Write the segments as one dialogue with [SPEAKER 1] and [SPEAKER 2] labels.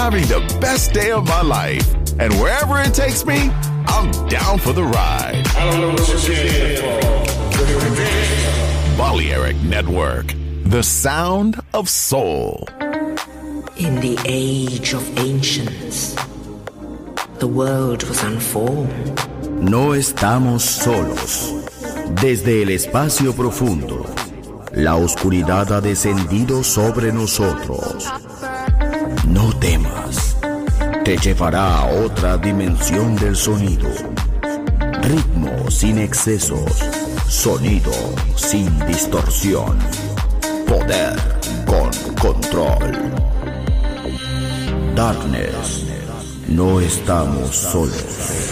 [SPEAKER 1] having the best day of my life. And wherever it takes me, I'm down for the ride.
[SPEAKER 2] I don't know what you're here for.
[SPEAKER 1] Balearic Network, the sound of soul.
[SPEAKER 3] In the age of ancients, the world was unformed.
[SPEAKER 4] No estamos solos. Desde el espacio profundo, la oscuridad ha descendido sobre nosotros. No temas, te llevará a otra dimensión del sonido. Ritmo sin excesos, sonido sin distorsión, poder con control. Darkness, no estamos solos.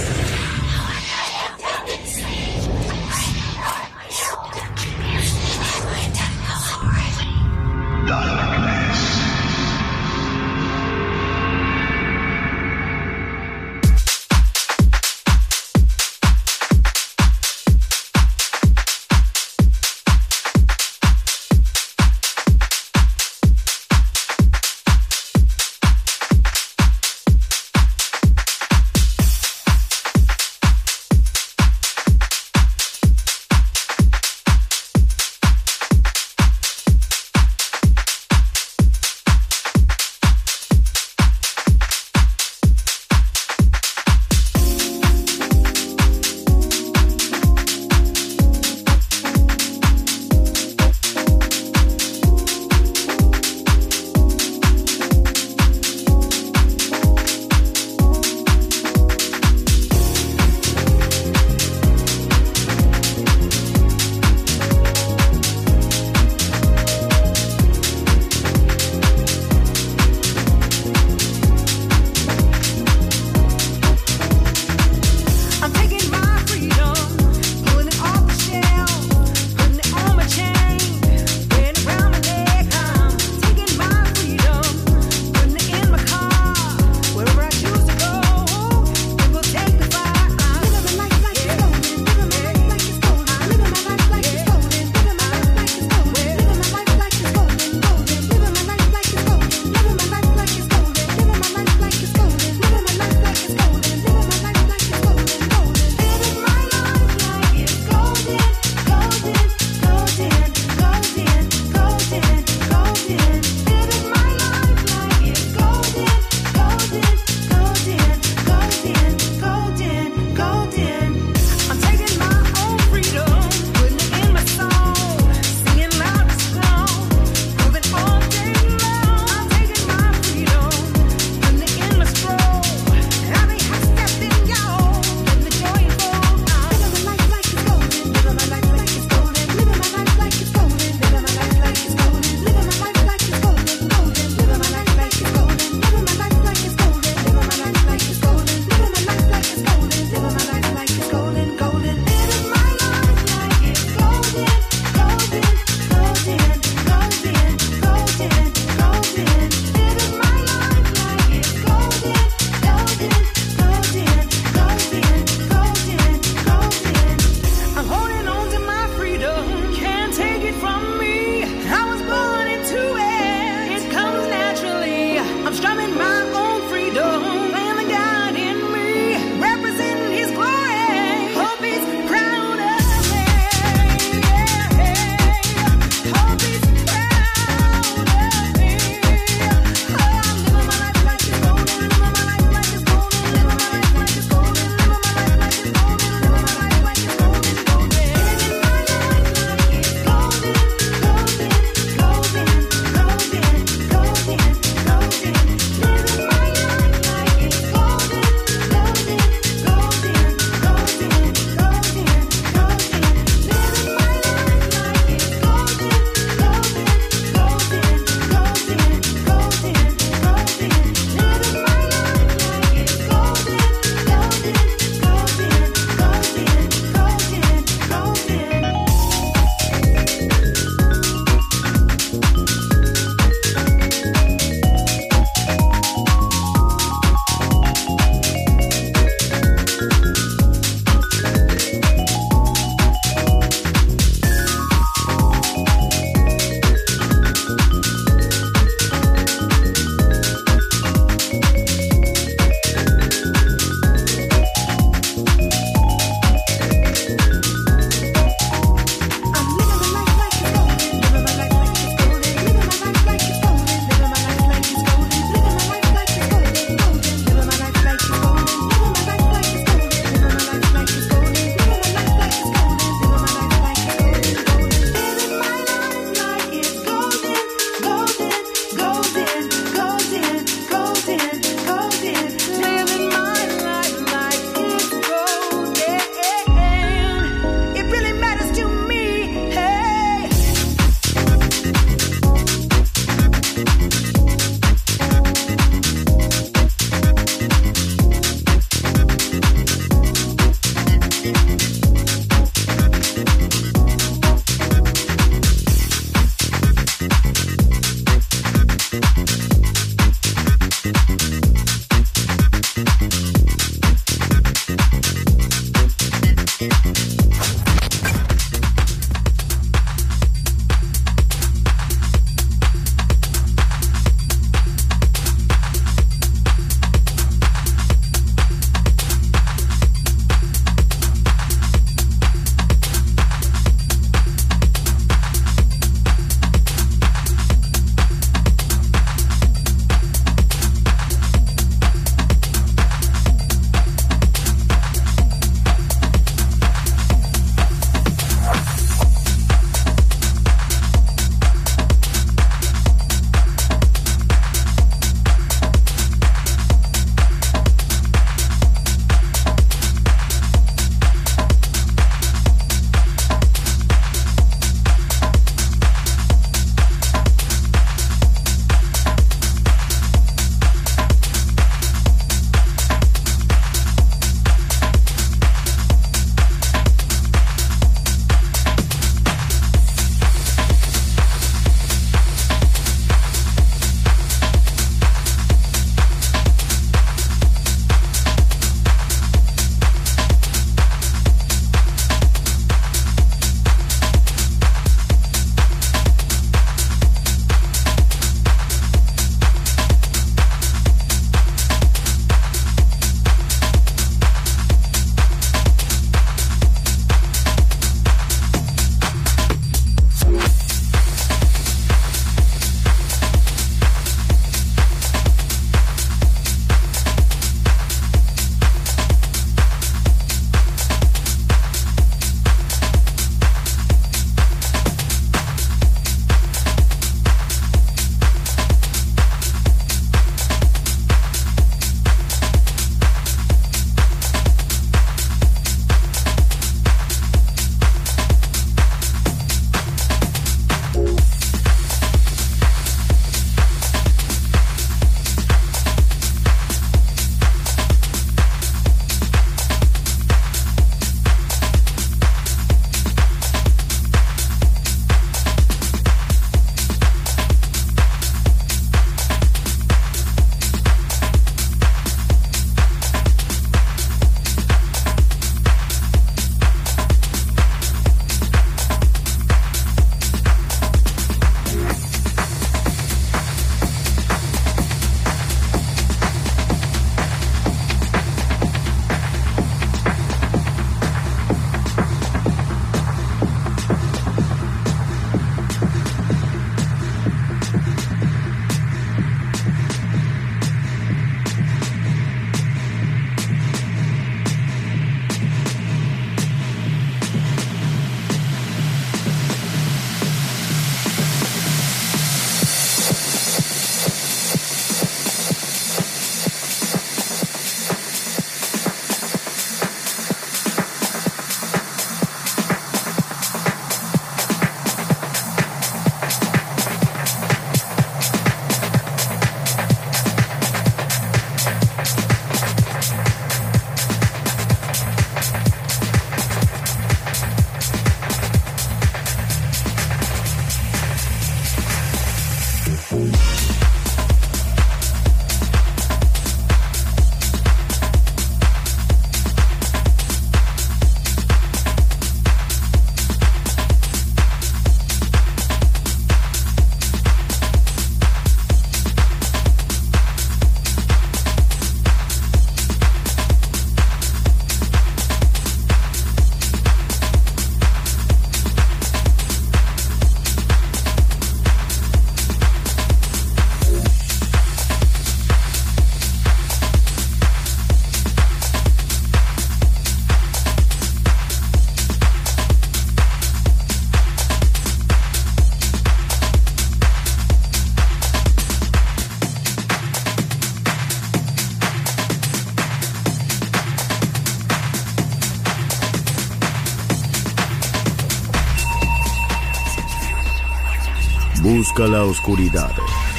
[SPEAKER 4] Busca la oscuridad.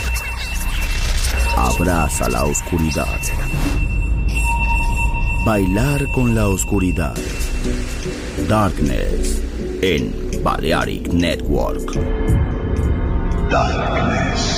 [SPEAKER 4] Abraza la oscuridad. Bailar con la oscuridad. Darkness en Balearic Network. Darkness.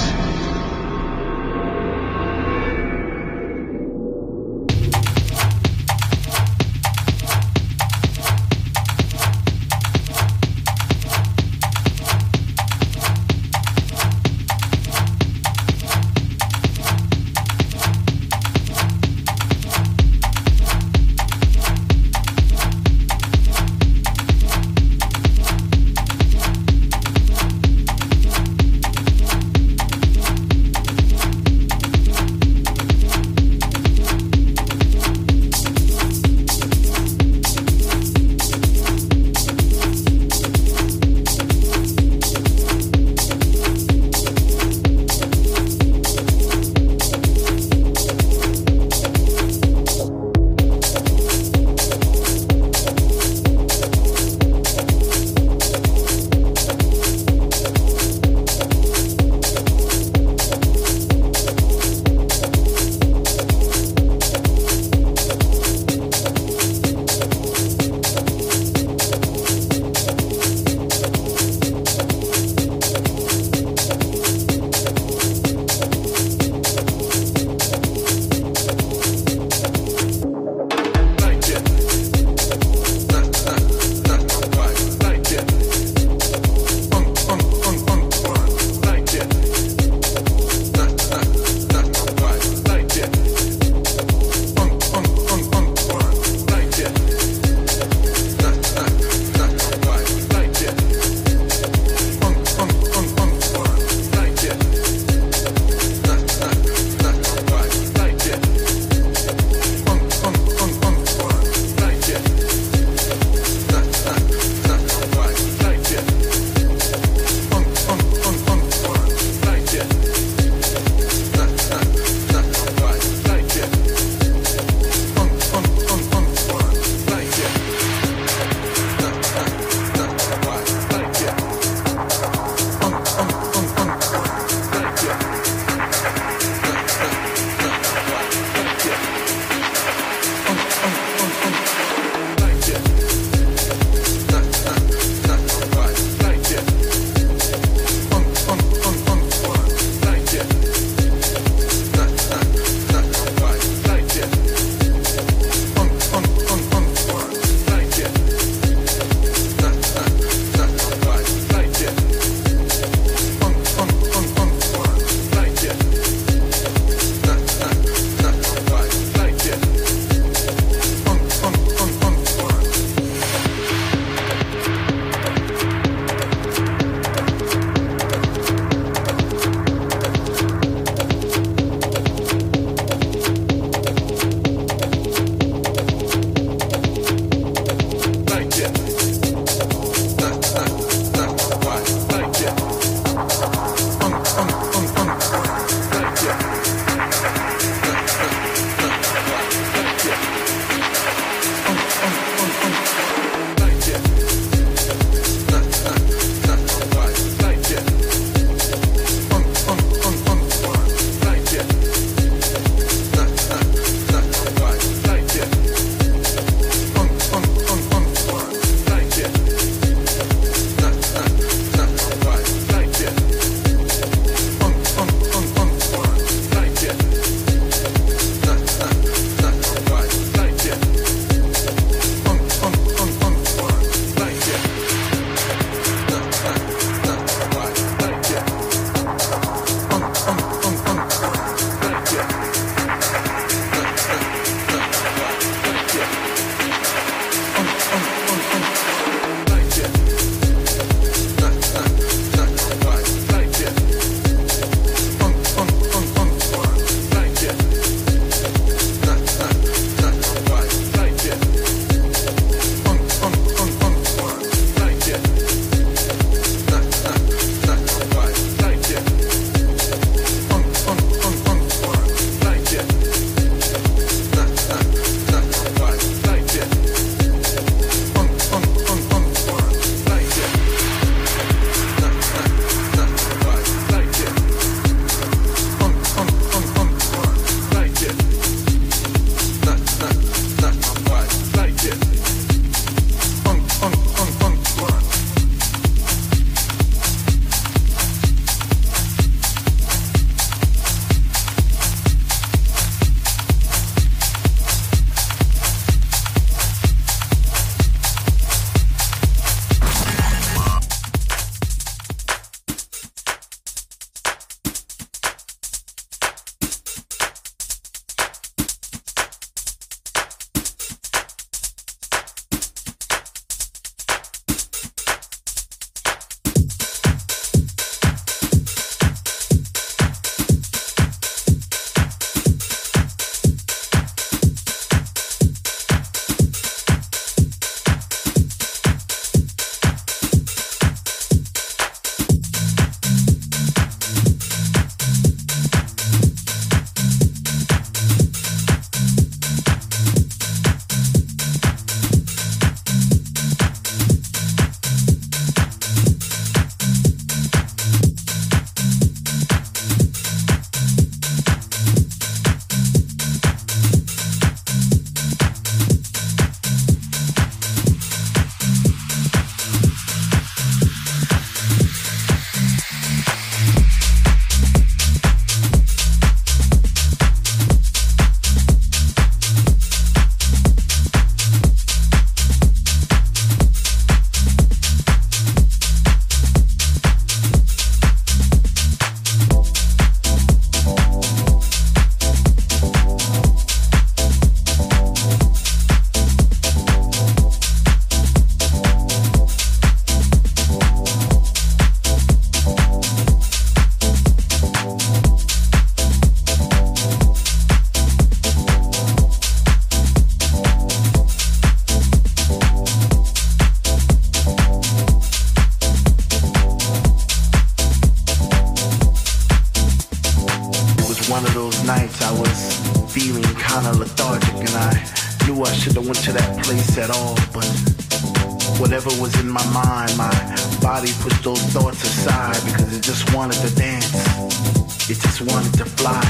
[SPEAKER 5] of those nights I was feeling kinda lethargic, and I knew I should've went to that place at all, but whatever was in my mind, my body pushed those thoughts aside because it just wanted to dance. It just wanted to fly.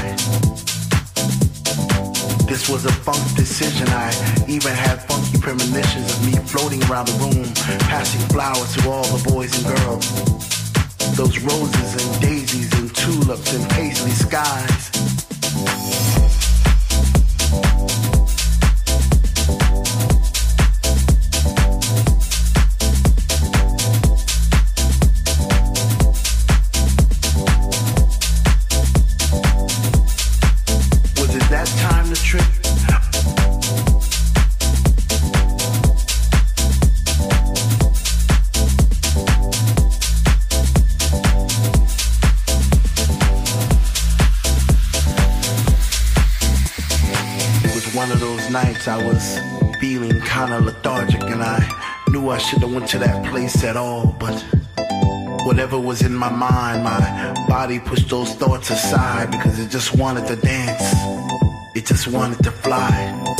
[SPEAKER 5] This was a funk decision. I even had funky premonitions of me floating around the room, passing flowers to all the boys and girls. Those roses and daisies and tulips and paisley skies. Nights I was feeling kinda lethargic, and I knew I should've went to that place at all, but whatever was in my mind, my body pushed those thoughts aside because it just wanted to dance. It just wanted to fly.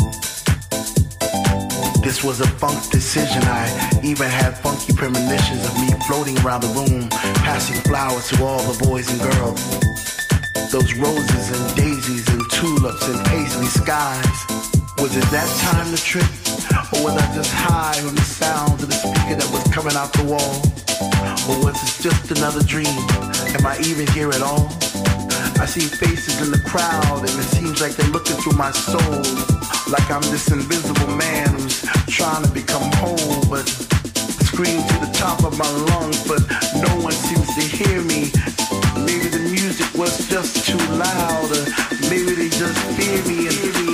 [SPEAKER 5] This was a funk decision. I even had funky premonitions of me floating around the room, passing flowers to all the boys and girls. Those roses and daisies and tulips and paisley skies. Was it that time to trip? Or was I just high on the sound of the speaker that was coming out the wall? Or was it just another dream? Am I even here at all? I see faces in the crowd and it seems like they're looking through my soul. Like I'm this invisible man who's trying to become whole, but scream to the top of my lungs, but no one seems to hear me. Maybe the music was just too loud, or maybe they just fear me and hear me.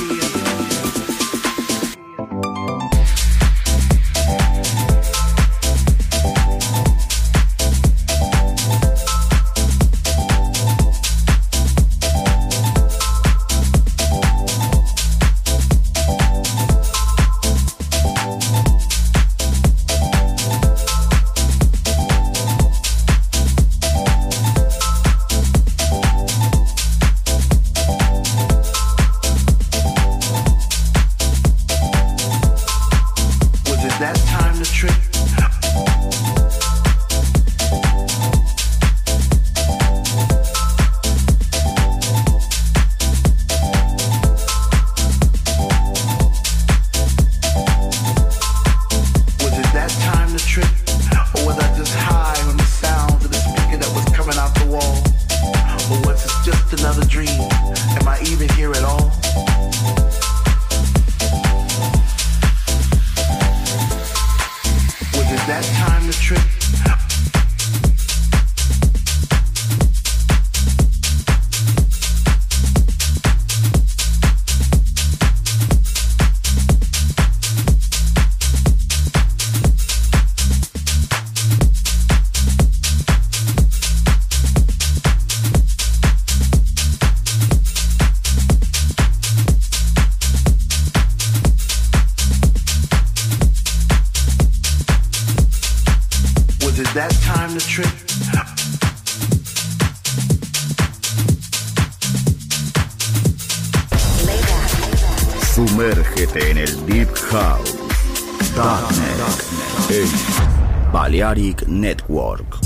[SPEAKER 4] Sumérgete en el Deep House. Darknet en Balearic Network.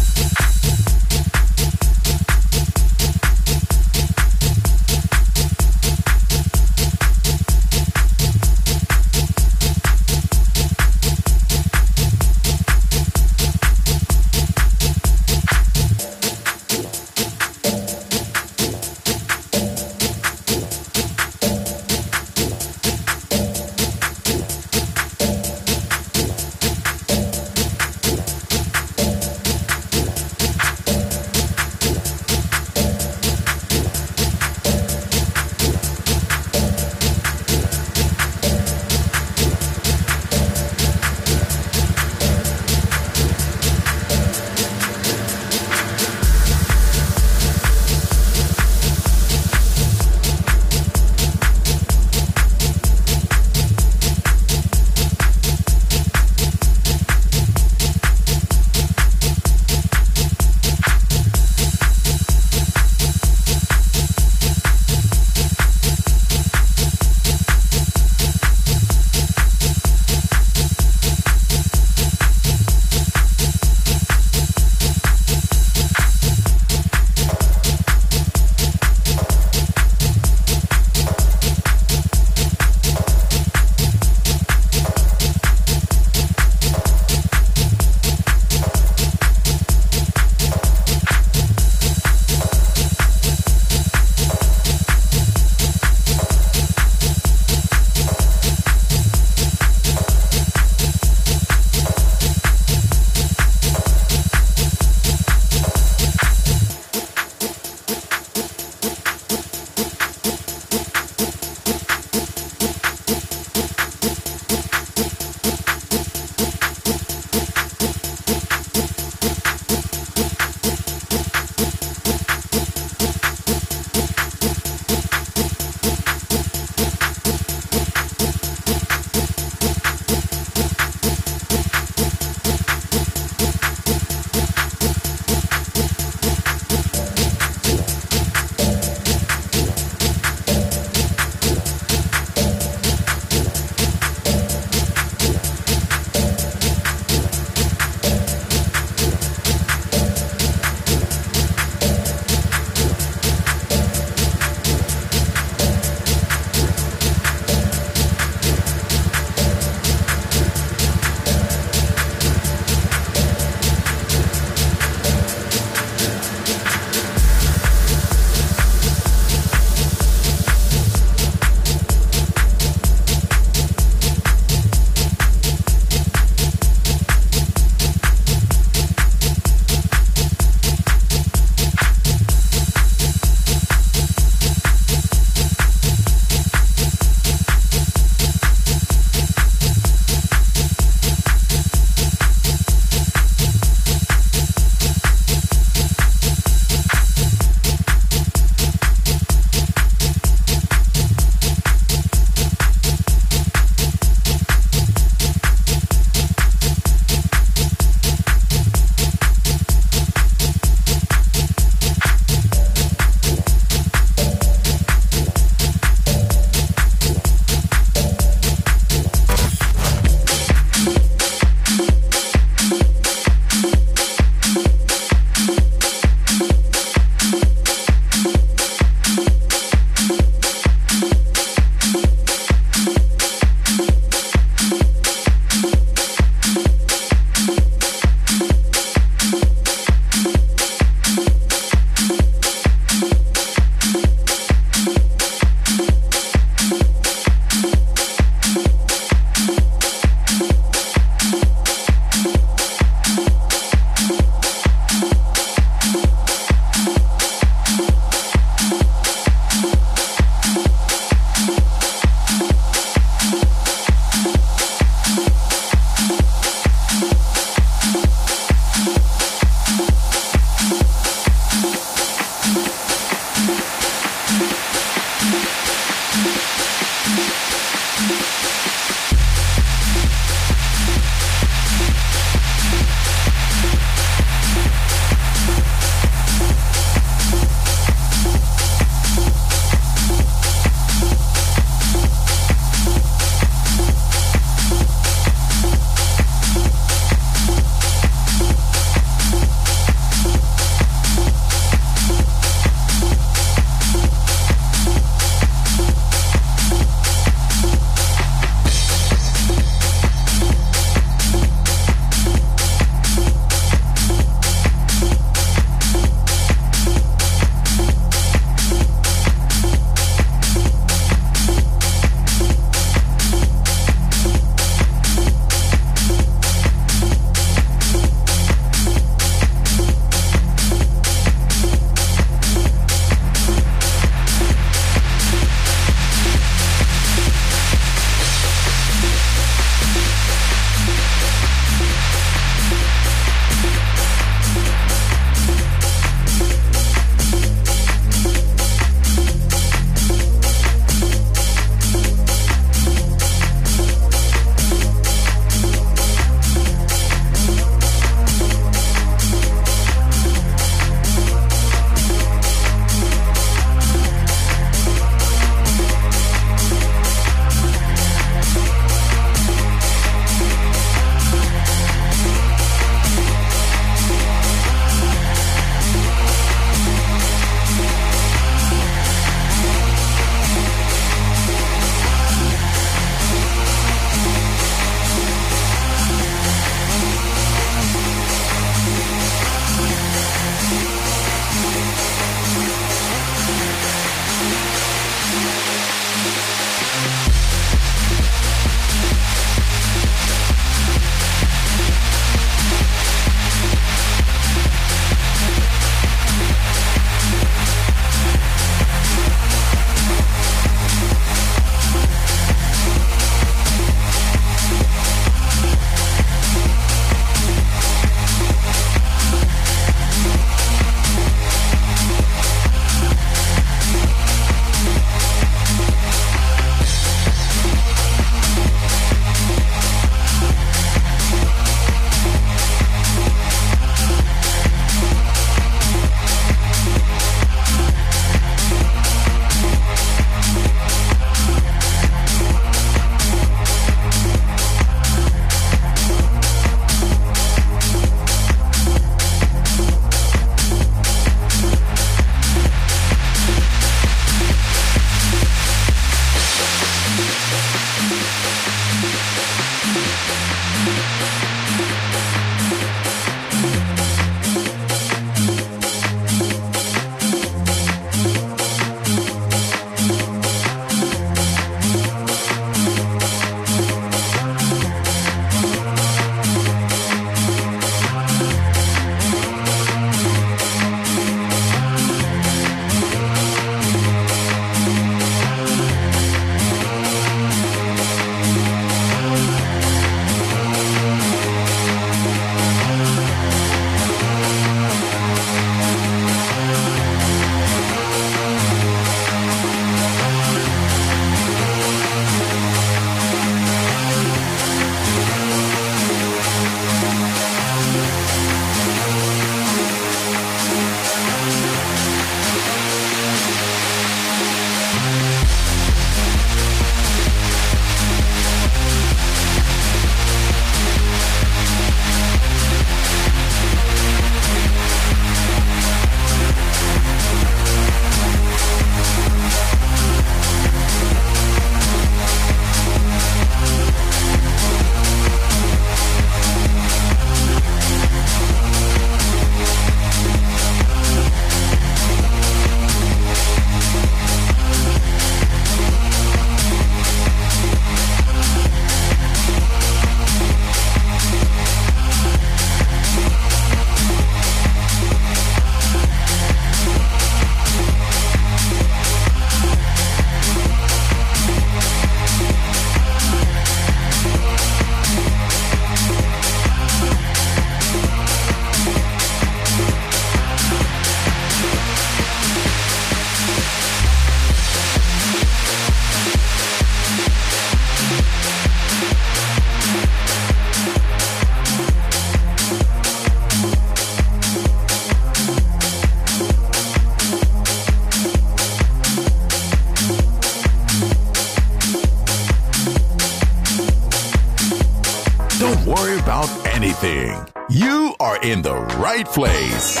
[SPEAKER 1] about anything, you are in the right place.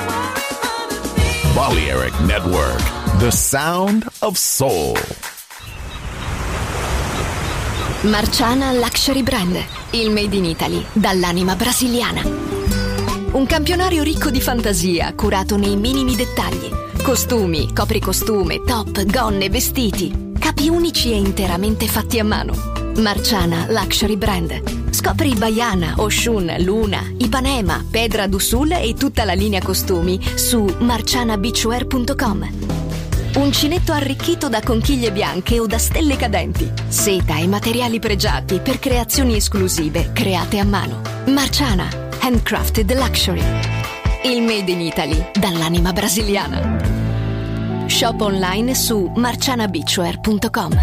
[SPEAKER 1] Balearic Network, the sound of soul.
[SPEAKER 6] Marciana Luxury Brand, il made in Italy dall'anima brasiliana. Un campionario ricco di fantasia, curato nei minimi dettagli. Costumi, copricostume, top, gonne, vestiti. Capi unici e interamente fatti a mano. Marciana Luxury Brand. Scopri Baiana, Oshun, Luna, Ipanema, Pedra do Sul e tutta la linea costumi su marcianabeachwear.com. Uncinetto arricchito da conchiglie bianche o da stelle cadenti. Seta e materiali pregiati per creazioni esclusive create a mano. Marciana, handcrafted luxury. Il made in Italy dall'anima brasiliana. Shop online su marcianabeachwear.com.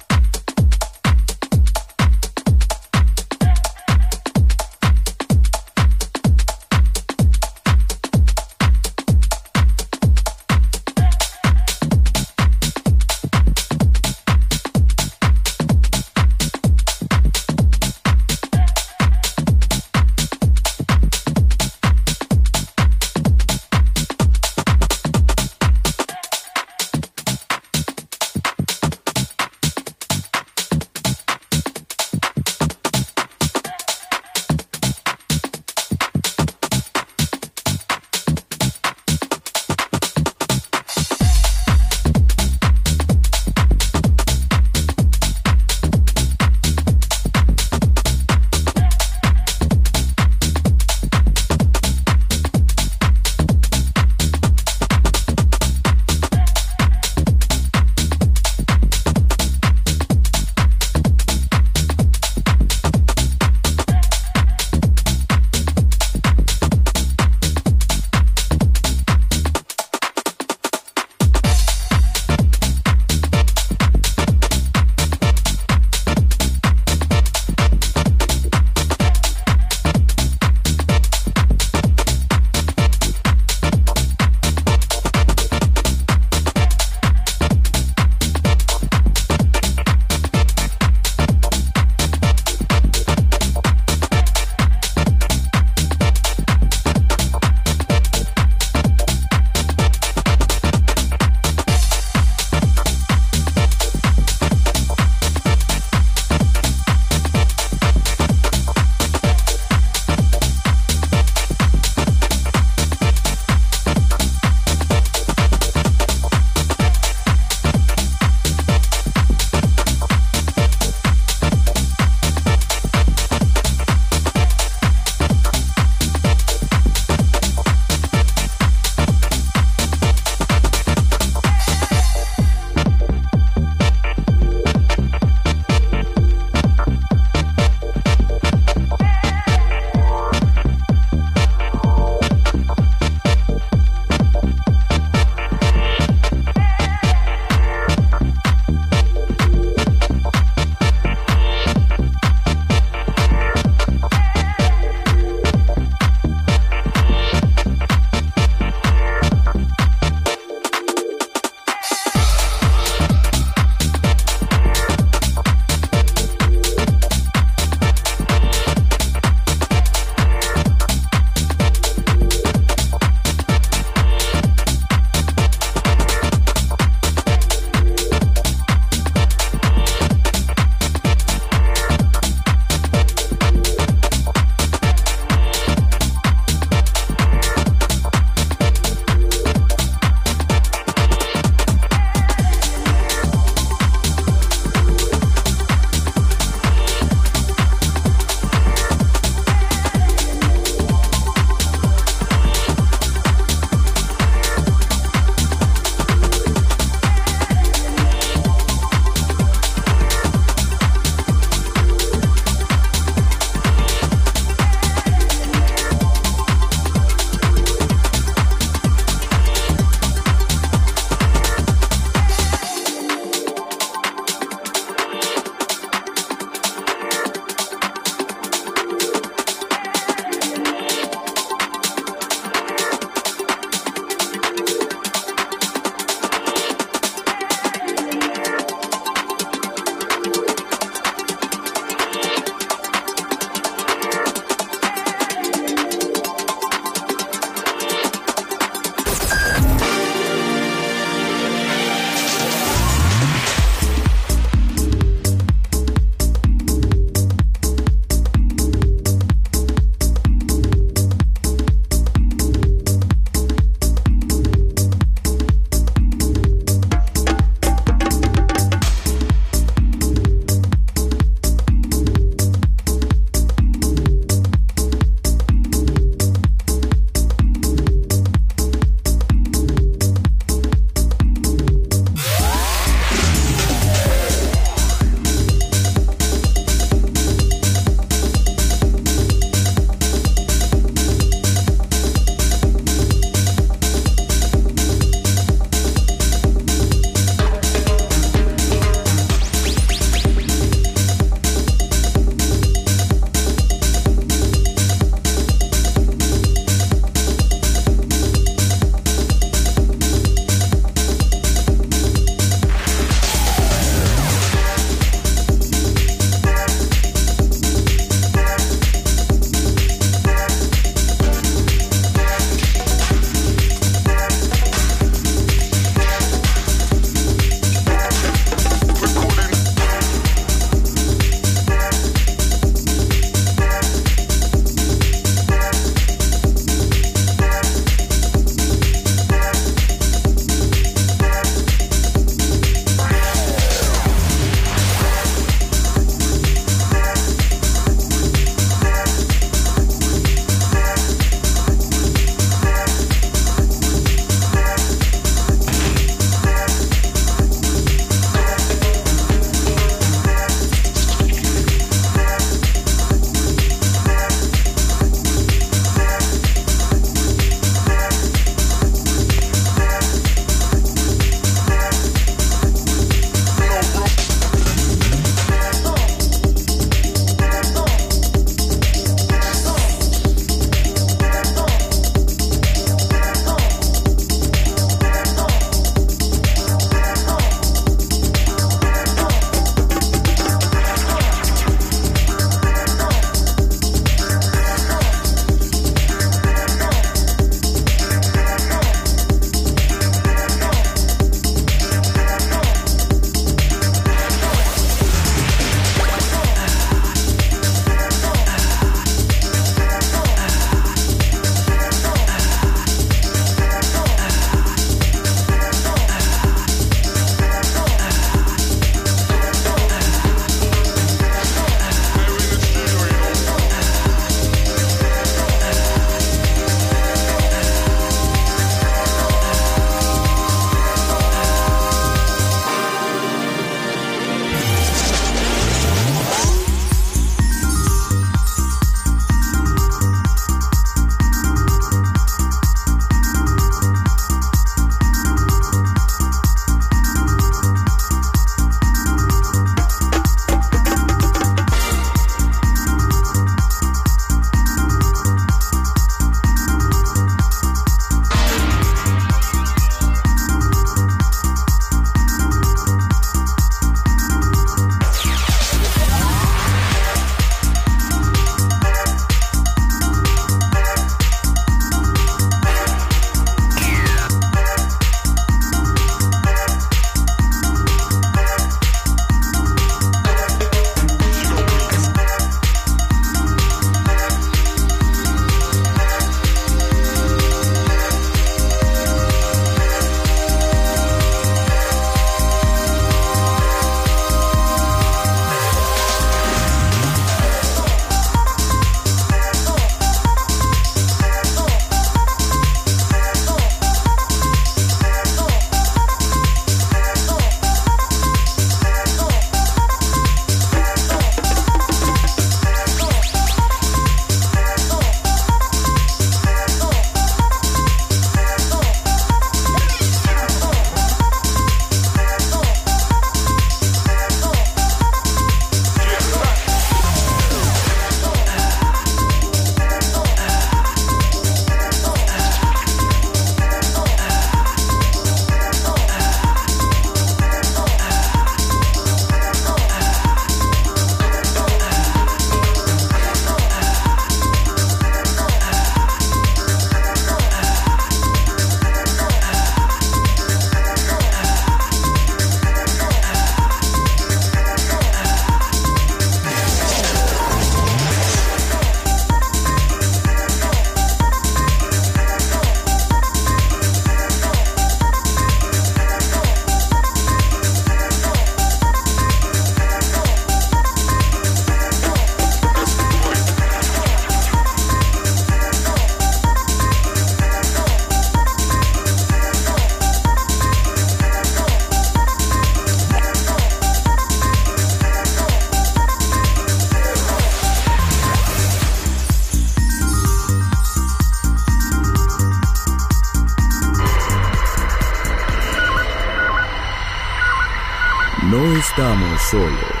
[SPEAKER 4] No estamos solos.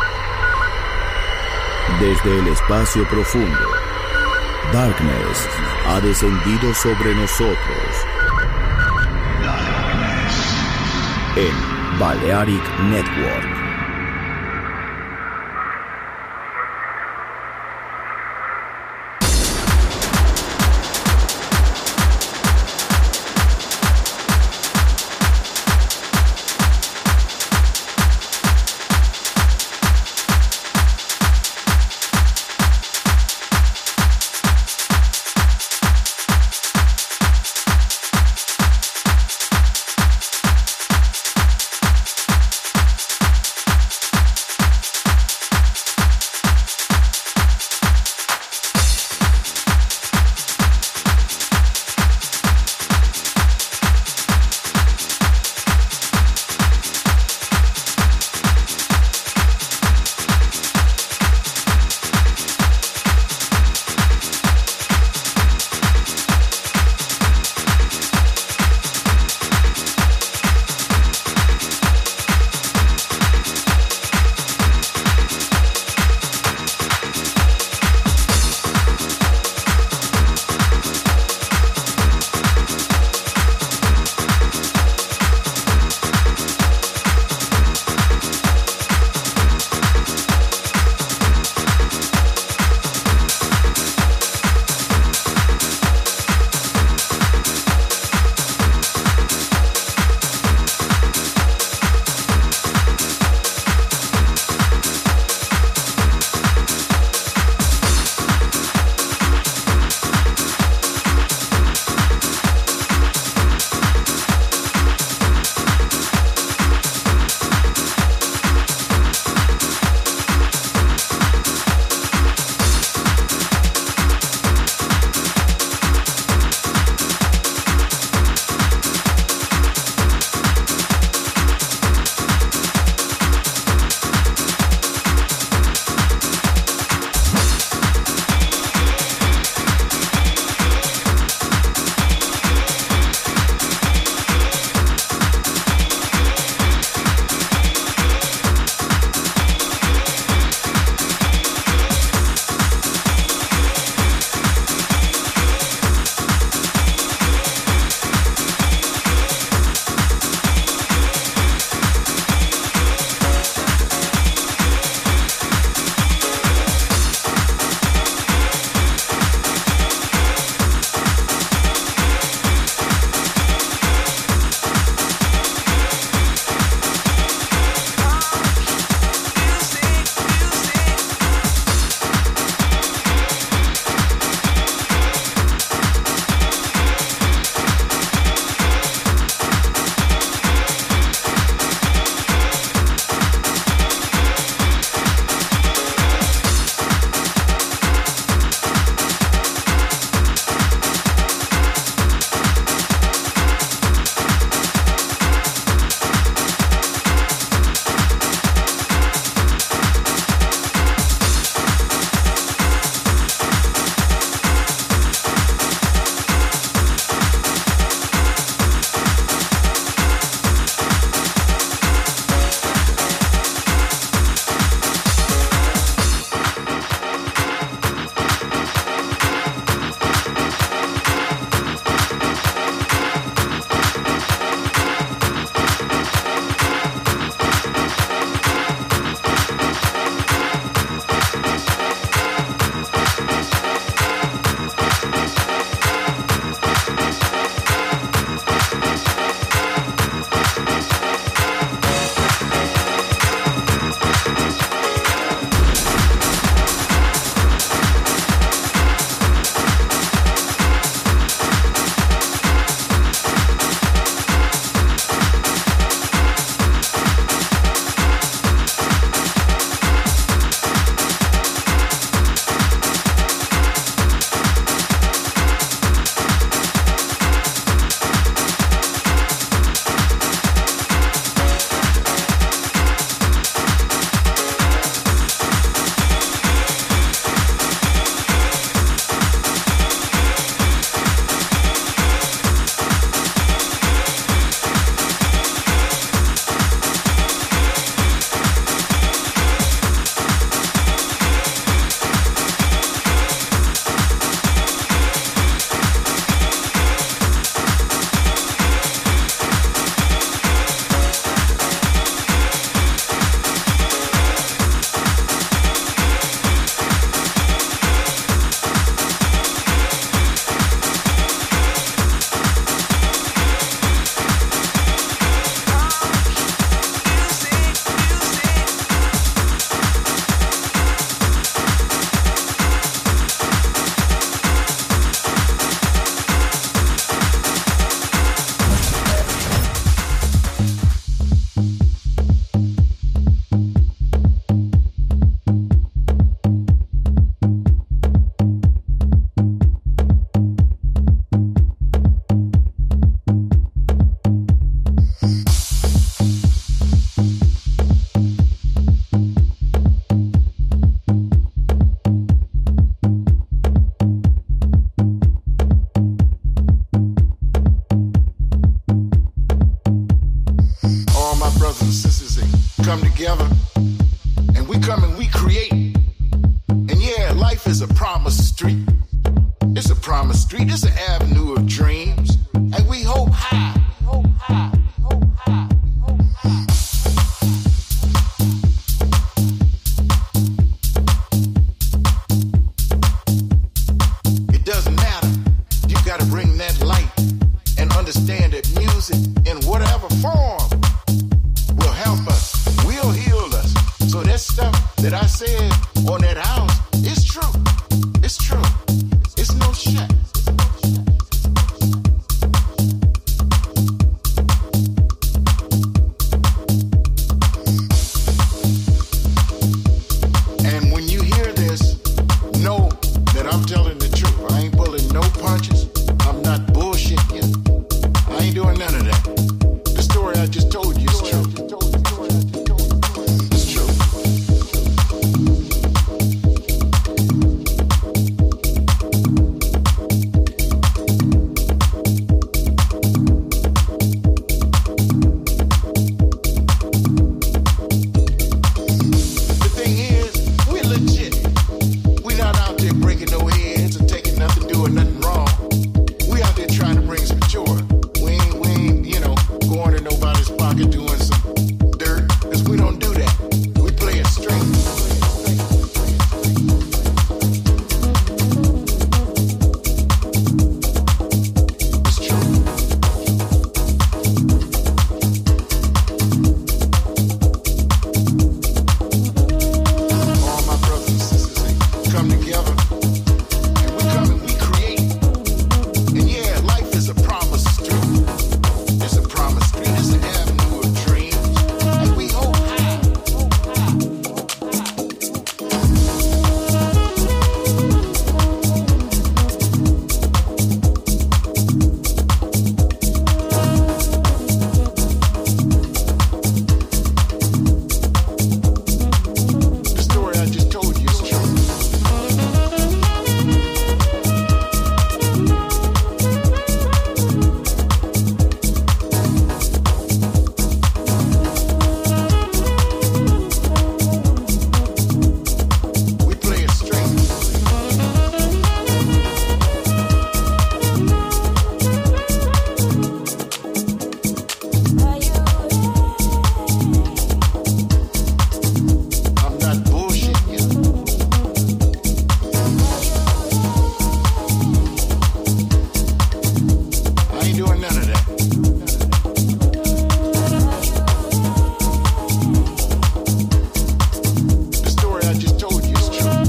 [SPEAKER 4] Desde el espacio profundo, Darkness ha descendido sobre nosotros. En Balearic Network.
[SPEAKER 2] come together, and we come and we create. And yeah, life is a promise street. It's a promise street. It's an avenue of dreams, and we hope high. Hope high. Hope high. It doesn't matter. You gotta bring that light and understand that music in whatever form will help us, will heal us. So that stuff that I said on that house is true. It's true. It's no shit. And when you hear this, know that I'm telling the truth. I ain't pulling no punches. I'm not bullshitting you. I ain't doing none of that. The story I just told you is true. It's true. The thing is, we're legit. We're not out there breaking no heads or taking nothing, doing nothing wrong. We out there trying to bring some joy. We ain't, going in nobody's pocket doing some dirt, because we don't do that. We play it straight. It's true. All my brothers and sisters, they come together, and we come and we create. And yeah, life is a promise street. It's a promise street. It's an avenue of dreams, and we hope high. The story I just told you is true. We play it straight. I'm not bullshitting you. I ain't doing none of that. The story I just told you is true.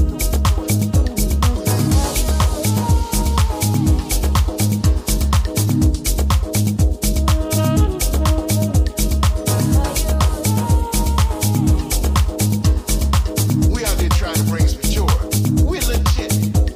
[SPEAKER 2] We out there trying to bring some joy. We're legit.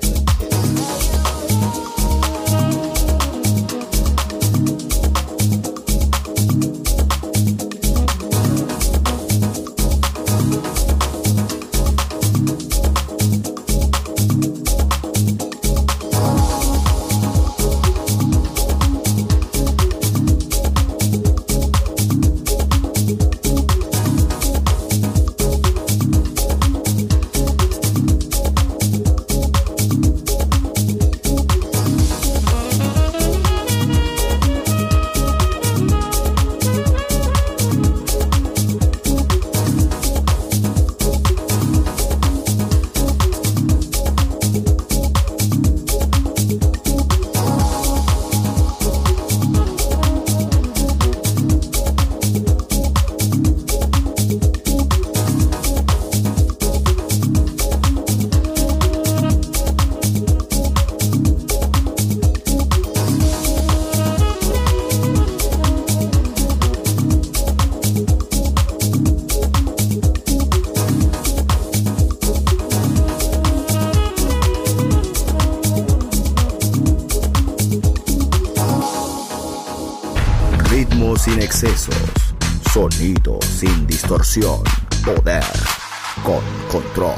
[SPEAKER 4] Ritmo sin excesos, sonido sin distorsión, poder con control.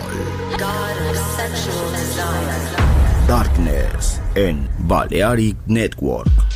[SPEAKER 4] Darkness en Balearic Network.